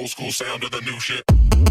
old school sound to the new shit.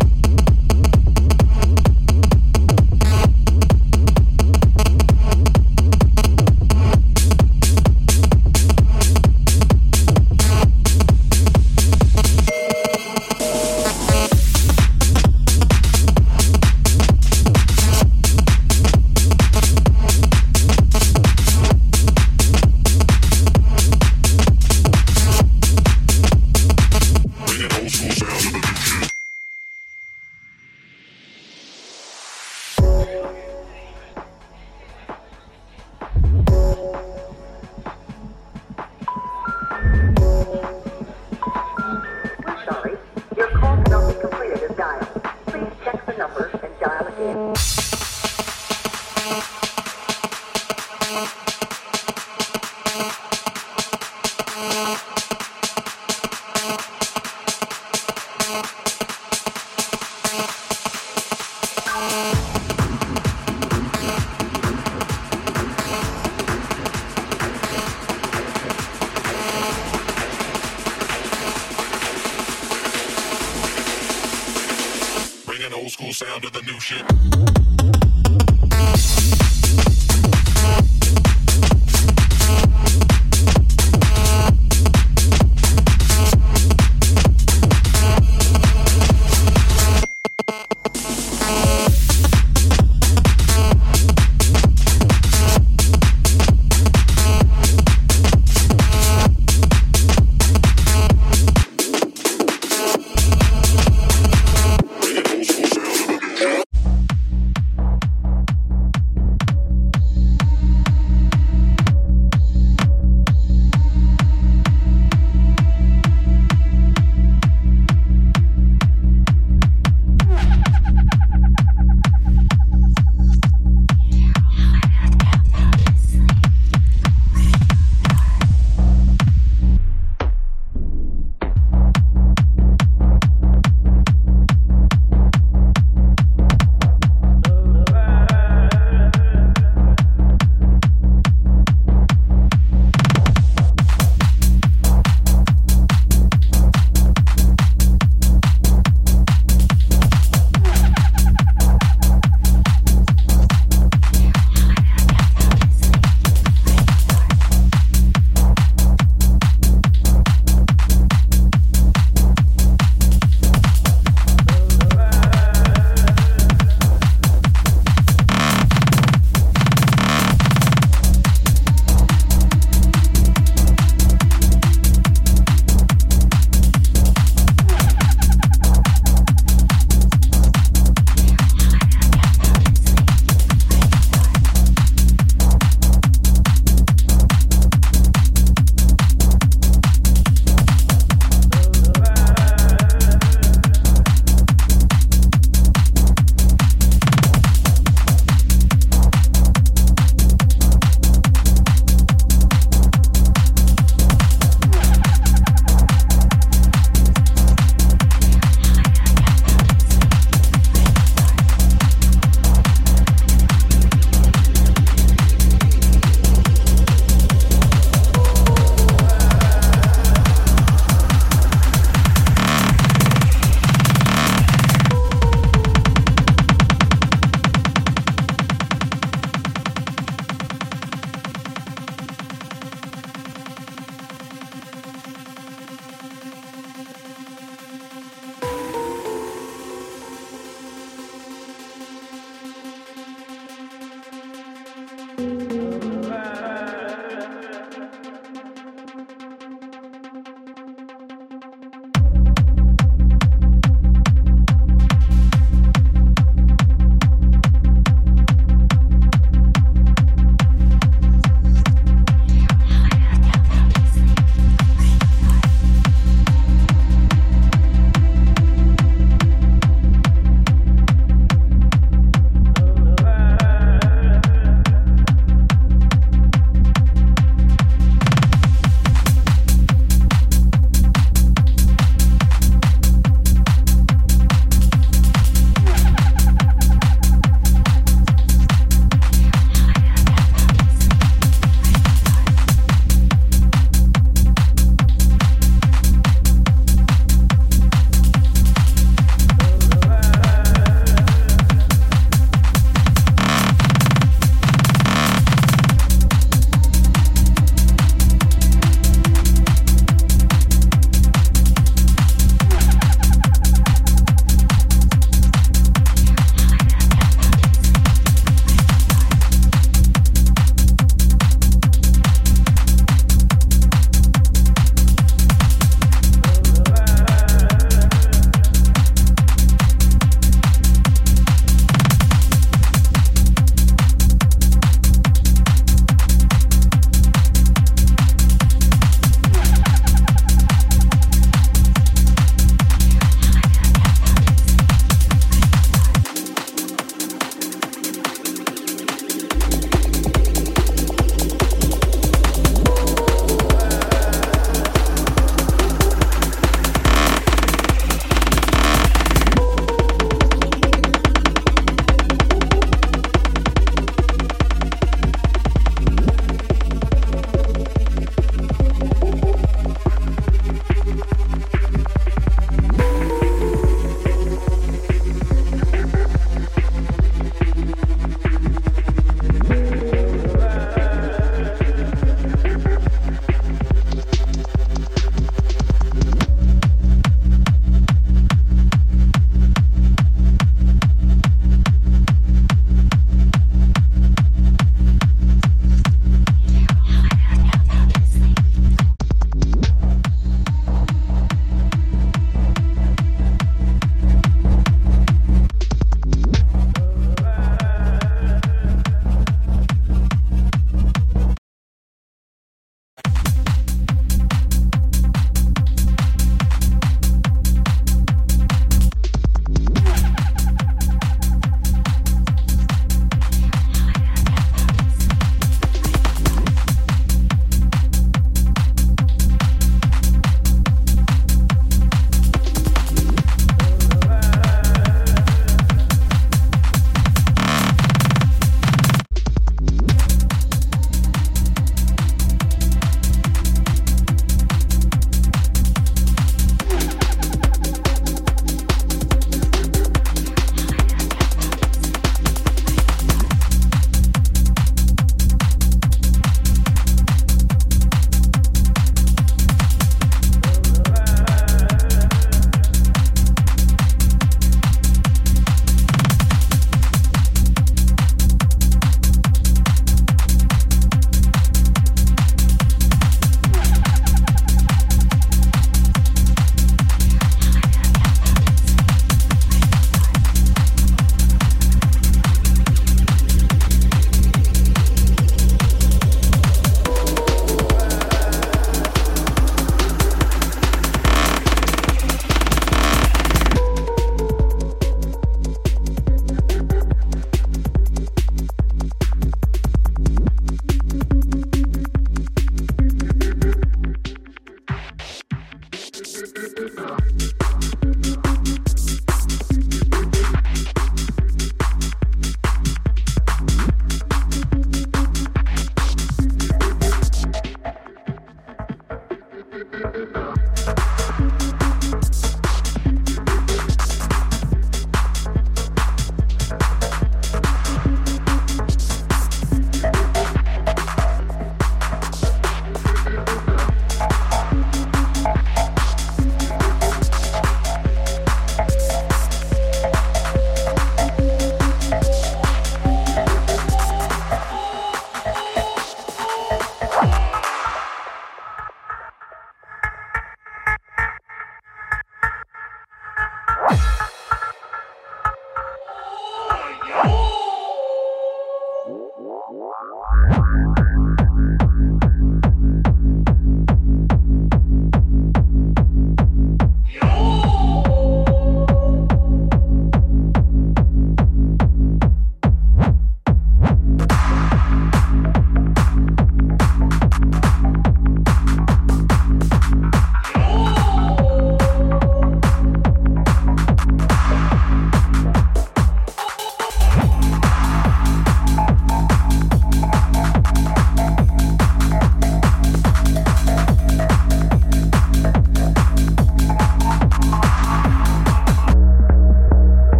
Old school sound to the new shit.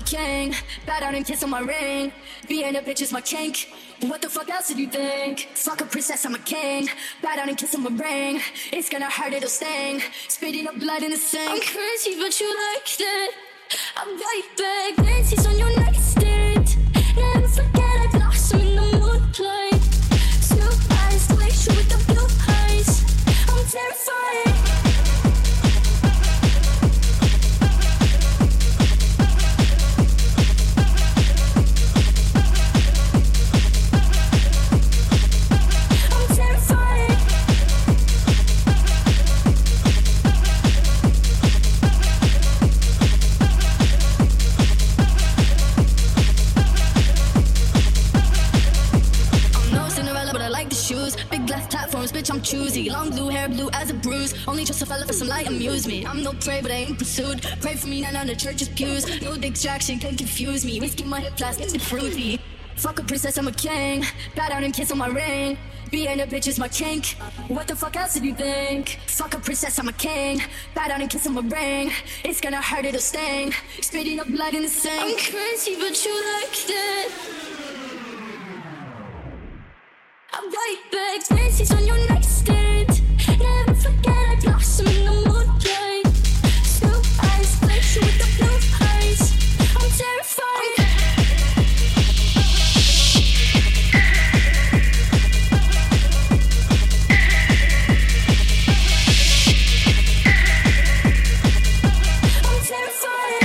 king. Bow down and kiss on my ring. Being a bitch is my kink. What the fuck else did you think? Fuck a princess, I'm a king. Bow down and kiss on my ring. It's gonna hurt, it'll sting. Spitting up blood in the sink. I'm crazy, but you liked it. I'm right back. Dances on your nightstand. Never forget I blossom in the moonlight. Two eyes, glaze you with the blue eyes. I'm terrified. Bitch, I'm choosy. Long blue hair, blue as a bruise. Only trust a fella for some light, amuse me. I'm no prey, but I ain't pursued. Pray for me, not on the church's pews. No distraction can confuse me. Whiskey my hip flask, it's fruity. Fuck a princess, I'm a king. Bow down and kiss on my ring. Being a bitch is my kink. What the fuck else did you think? Fuck a princess, I'm a king. Bow down and kiss on my ring. It's gonna hurt, it'll sting. Spitting up blood in the sink. I'm crazy, but you liked it. I'm right back, dances on your nightstand. Never forget I blossom in the moonlight. Two eyes, glaze you with the blue eyes. I'm terrified. I'm terrified.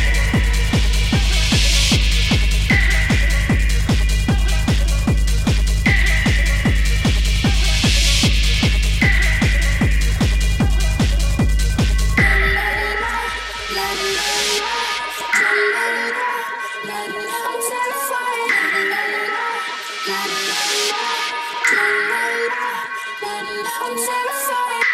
I'm terrified.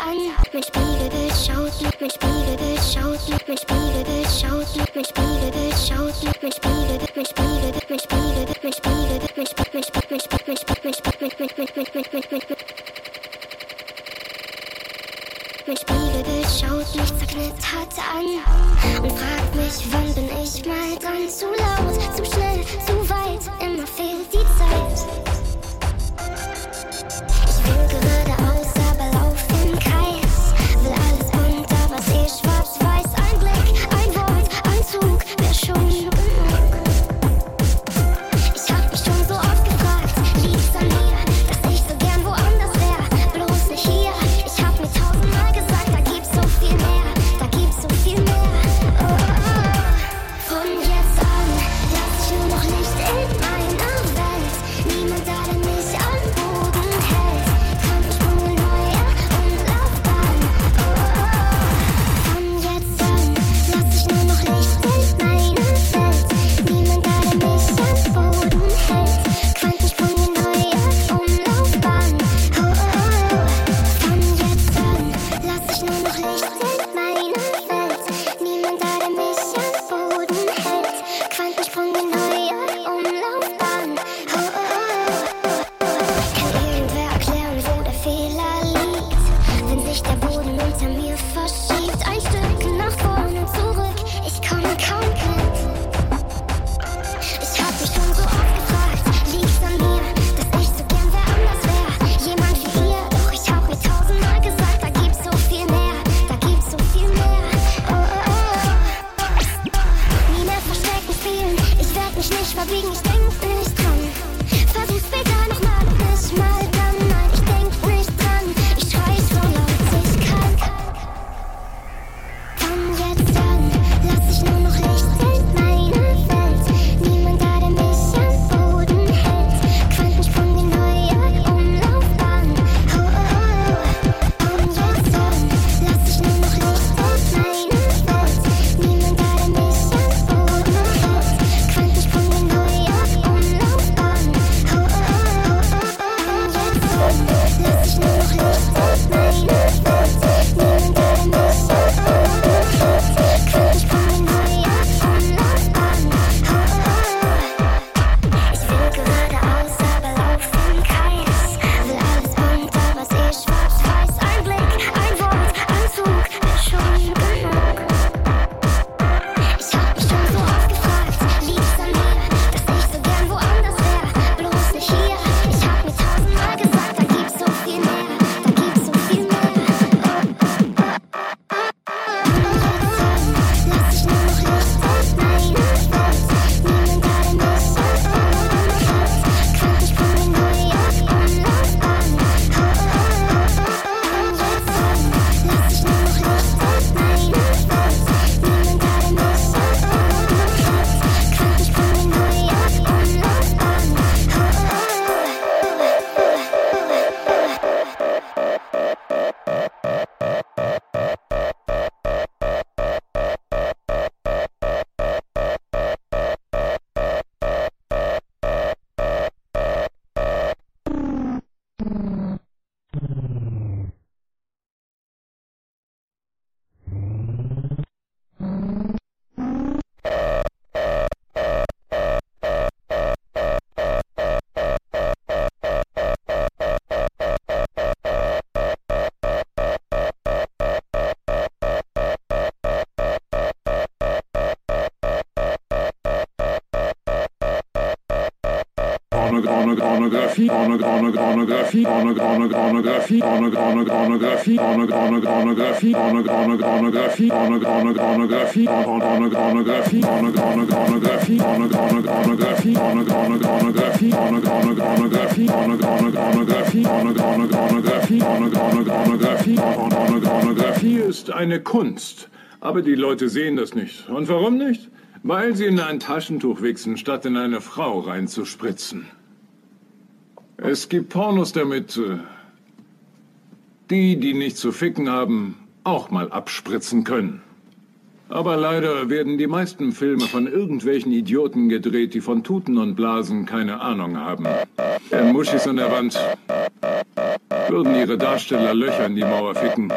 an. Mein Spiegelbild schaut, mein Spiegelbild schaut, mein Spiegelbild schaut, mein Spiegelbild schaut, mein Spiegelbild, mein Spiegelbild, mein Spiegelbild, mein Spiegelbild, mein Spiegelbild schaut mich zerknittert an und fragt mich, wann bin ich mal dran? Zu laut, zu schnell, zu weit, immer fehlt die Zeit. Ich will geradeaus, aber lauf im Kreis. Will alles bunt, aber seh schwarz-weiß. Ein Blick, ein Wort, ein Zug, wär schon genug. Ich hab mich schon so oft gefragt, liegt's an mir, dass ich so gern woanders wär, bloß nicht hier. Ich hab mir tausendmal gesagt, da gibt's so viel mehr, da gibt's so viel mehr. Oh, oh, oh. Von jetzt an lass ich nur noch Licht in meiner Welt. Niemand da, der mich am Boden hält. Quantensprung, neue Umlaufbahn. Oh, oh, oh. Von jetzt an lass ich nur noch Licht in meiner Welt. Niemand da, der mich am Boden hält. Quantensprung, neue Umlaufbahn. Oh, oh, oh. Von jetzt an lass ich nur noch Licht in meiner Welt. Niemand da, der mich am Boden hält. Quantensprung, neue Umlaufbahn. Oh, oh, oh. Kann irgendwer erklären, wo der Fehler liegt? Wenn sich der Boden unter mir verschiebt, ein Stück nach vorne und zurück, ich komme kaum mit. Ich hab mich schon so oft gefragt, liegt's an mir, dass ich so gern wer anders wär? Jemand wie ihr, doch ich hab mir tausendmal gesagt, da gibt's so viel mehr, da gibt's so viel mehr. Oh, oh, oh. Nie mehr Verstecken spielen, ich werd mich nicht verbiegen, ich denk nicht dran. Versuch später nochmal und nicht mal dann, nein, ich denk nicht dran. Ich schrei so laut ich kann. Von jetzt an lass ich nur noch Licht in meiner Welt. Niemand da, der mich am Boden hält. Quantensprung, die neue Umlaufbahn. Oh, oh, oh. Von jetzt an lass ich nur noch Licht in meiner Welt. Niemand da, der mich am Boden hält. Quantensprung, die neue Umlaufbahn. Oh, oh, oh. Von jetzt an lass ich nur noch Licht in meiner Welt. Niemand da, der mich am Boden hält. Quantensprung, die neue Umlaufbahn. Oh, oh, oh. Ich will geradeaus, aber lauf im Kreis. Will alles bunt, aber seh schwarz-weiß. Ein Blick, ein Wort, ein Zug, wär schon genug. Ich hab mich schon so oft gefragt, liegt's an mir, dass ich so gern woanders wär, bloß nicht hier. Ich hab mir tausendmal gesagt, da gibt's so viel mehr, da gibt's so viel mehr. Lass ich nur noch Licht in meiner Welt. Niemand da, der mich am Boden hält. Quantensprung, die neue Umlaufbahn. Oh, oh, oh. Lass ich nur noch Licht in meiner Welt. Niemand da, der mich am Boden hält. Quantensprung, die neue Umlaufbahn. Oh, oh, Pornografie, Pornografie, Pornografie, Pornografie, Pornografie, Pornografie, Pornografie, Pornografie, Pornografie, Pornografie, Pornografie, Pornografie, Pornografie, Pornografie, Pornografie, Pornografie, Pornografie, Pornografie, Pornografie ist eine Kunst, aber die Leute sehen das nicht. Und warum nicht? Weil sie in ein Taschentuch wichsen, statt in eine Frau reinzuspritzen. Es gibt Pornos, damit die nicht zu ficken haben, auch mal abspritzen können. Aber leider werden die meisten Filme von irgendwelchen Idioten gedreht, die von Tuten und Blasen keine Ahnung haben. Wären Muschis an der Wand, würden ihre Darsteller Löcher in die Mauer ficken.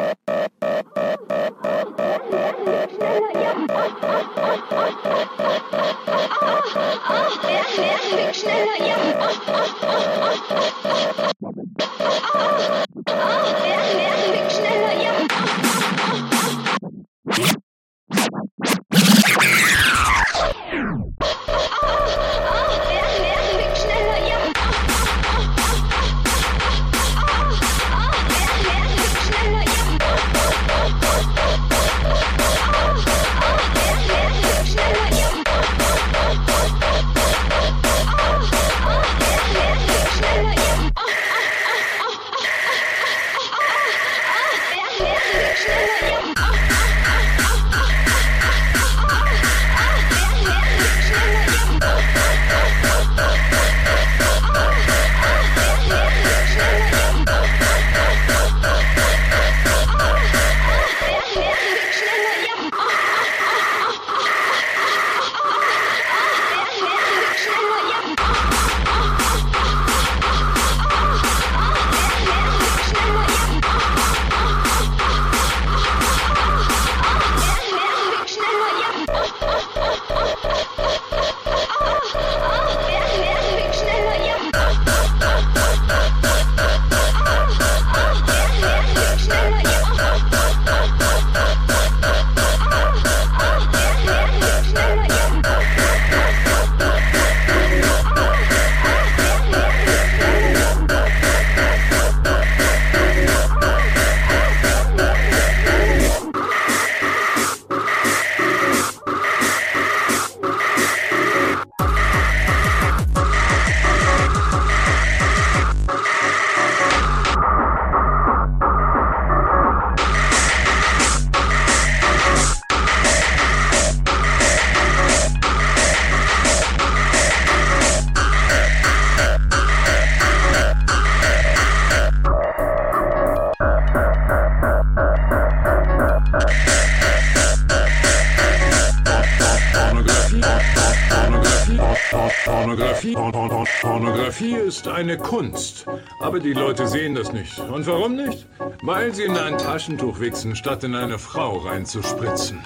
Pornografie ist eine Kunst, aber die Leute sehen das nicht. Und warum nicht? Weil sie in ein Taschentuch wichsen, statt in eine Frau reinzuspritzen.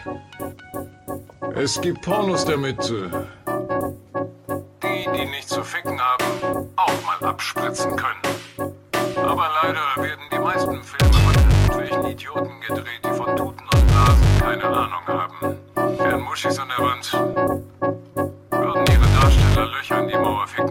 Es gibt Pornos, damit die nicht zu ficken haben, auch mal abspritzen können. Aber leider werden die meisten Filme von irgendwelchen Idioten gedreht, die von Tuten und Blasen keine Ahnung haben. Wären Muschis an der Wand, würden ihre Darsteller Löcher in die Mauer ficken.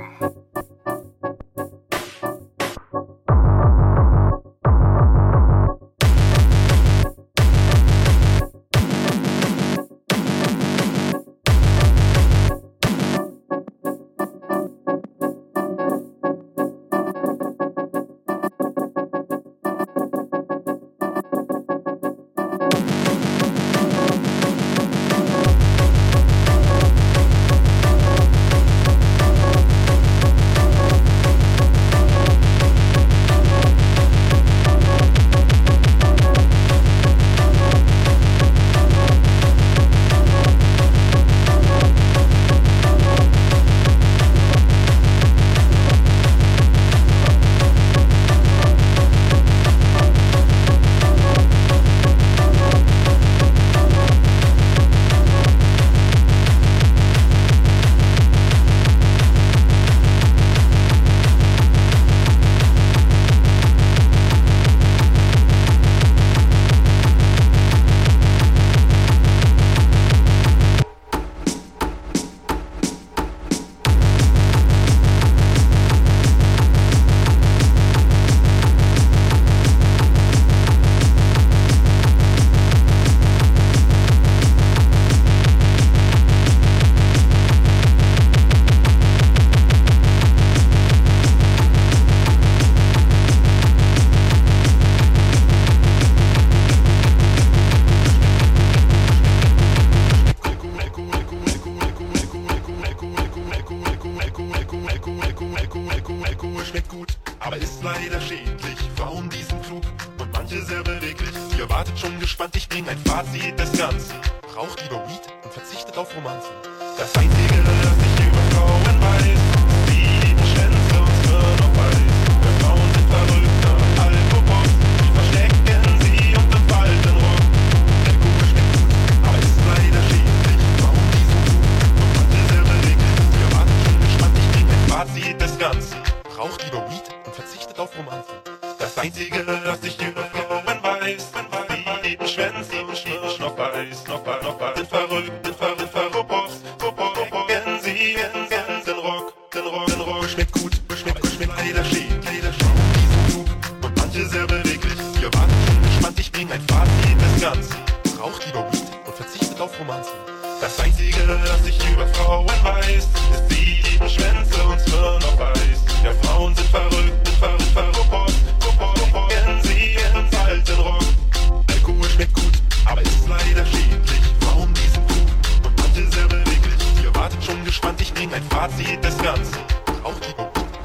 Ihr wartet schon gespannt, ich bring ein Fazit des Ganzen. Raucht lieber Weed und verzichtet auf Romanzen. Das Einzige, das ich über Frauen weiß, ist die Schwänze und Zwirn auf Eis. Wir Frauen sind verrückt nach Alkohol, die verstecken sie unter Faltenrock. Der Kuchen schmeckt gut, aber ist leider schädlich. Warum die so gut und manche sehr beweglich? Ihr wartet schon gespannt, ich bring ein Fazit des Ganzen. Raucht lieber Weed und verzichtet auf Romanzen. Das Einzige, das ich über Frauen weiß, die Schwänze und Schwirn auf Eis, sind verrückt, sind verrückt. Kennen sie den Rock, den Rock schmeckt gut, schmeckt leider schädlich. Und manche sehr beweglich. Ihr wartet schon gespannt, ich bring ein Fazit des Ganzen. Raucht lieber Weed und verzichtet auf Romanzen. Das Einzige, das ich über Frauen weiß, ist die lieben Schwänze und Zwirn auf Eis. Ja, Frauen sind verrückt, verrückt. Kennen sie den alten Rock. Alkohol schmeckt gut, aber ist leider schädlich. Warum diesen Kuh und manche sehr beweglich? Ihr wartet schon gespannt, ich bring ein Fazit des Ganzen. Raucht lieber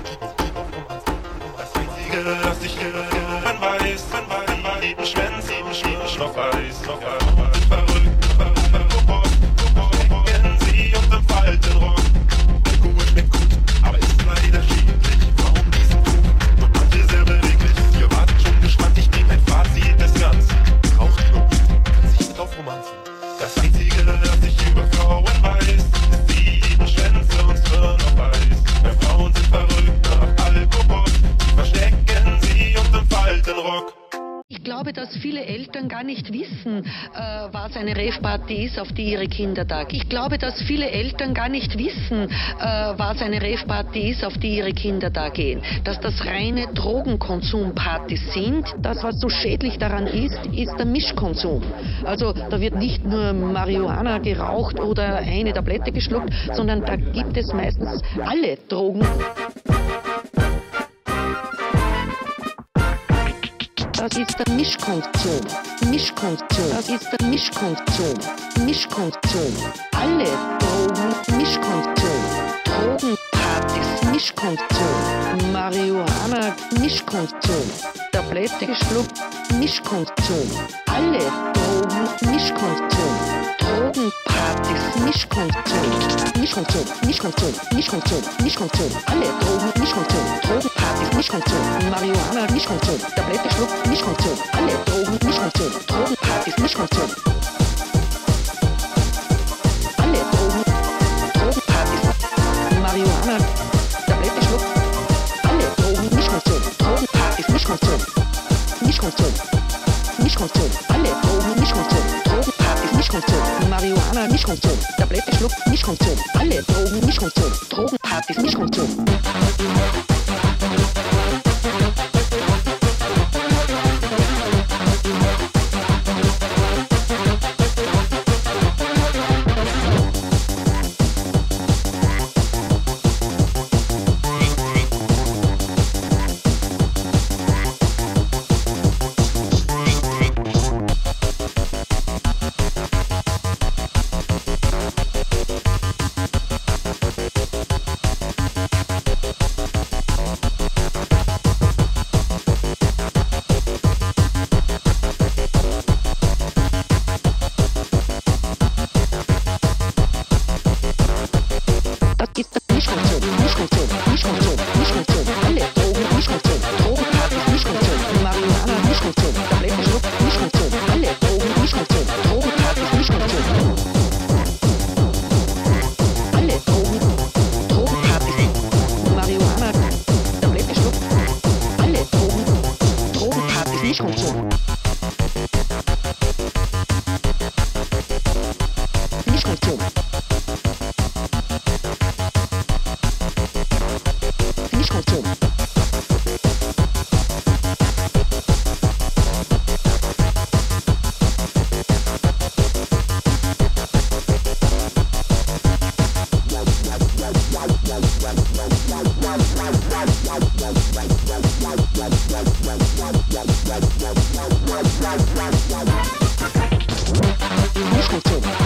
das Einzige, das ich weiß, die lieben Schwänze auf Eis. Verrückt, kennen sie und im falten Rock. Alkohol schmeckt gut, aber ist leider schädlich. Warum diesen Kuh und manche sehr beweglich? Ihr wartet schon gespannt, ich bring ein Fazit des Ganzen. Raucht lieber Weed, verzichtet auf Romanzen. Das Einzige, das ich über Frauen weiß, ist die lieben Schwänze und Zwirn auf Eis. Weil Frauen sind verrückt nach Alkohol, die verstecken sie unter dem Faltenrock. Ich glaube, dass viele Eltern gar nicht wissen, was eine Rave-Party ist, auf die ihre Kinder da gehen. Ich glaube, dass viele Eltern gar nicht wissen, was eine Rave-Party ist, auf die ihre Kinder da gehen. Dass das reine Drogenkonsumpartys sind. Das, was so schädlich daran ist der Mischkonsum. Also da wird nicht nur Marihuana geraucht oder eine Tablette geschluckt, sondern da gibt es meistens alle Drogen. Das ist der Mischkonsum. Das ist der Mischkonsum. Alle Drogen, Mischkonsum. Drogenpartys, Mischkonsum. Marihuana, Mischkonsum. Tablette geschluckt, Mischkonsum. Alle Drogen, Mischkonsum. Drogenpartys, Mischkonsum. Alle Drogen, Mischkonsum. Drogenpartys, Mischkonsum. Marihuana, Mischkonsum. Tablette geschluckt, Mischkonsum. Alle Drogen, Mischkonsum. Drogenpartys, Mischkonsum. Alle Drogen, Drogenpartys. Marihuana, Tablette geschluckt. Alle Drogen, Mischkonsum. Drogenpartys, Mischkonsum. Alle Drogen, Mischkonsum. Drogenpartys, Mischkonsum. Marihuana, Mischkonsum. Tablette schluckt, Mischkonsum. Alle Drogen, Mischkonsum. Drogenpartys, Mischkonsum. Mischkonsum.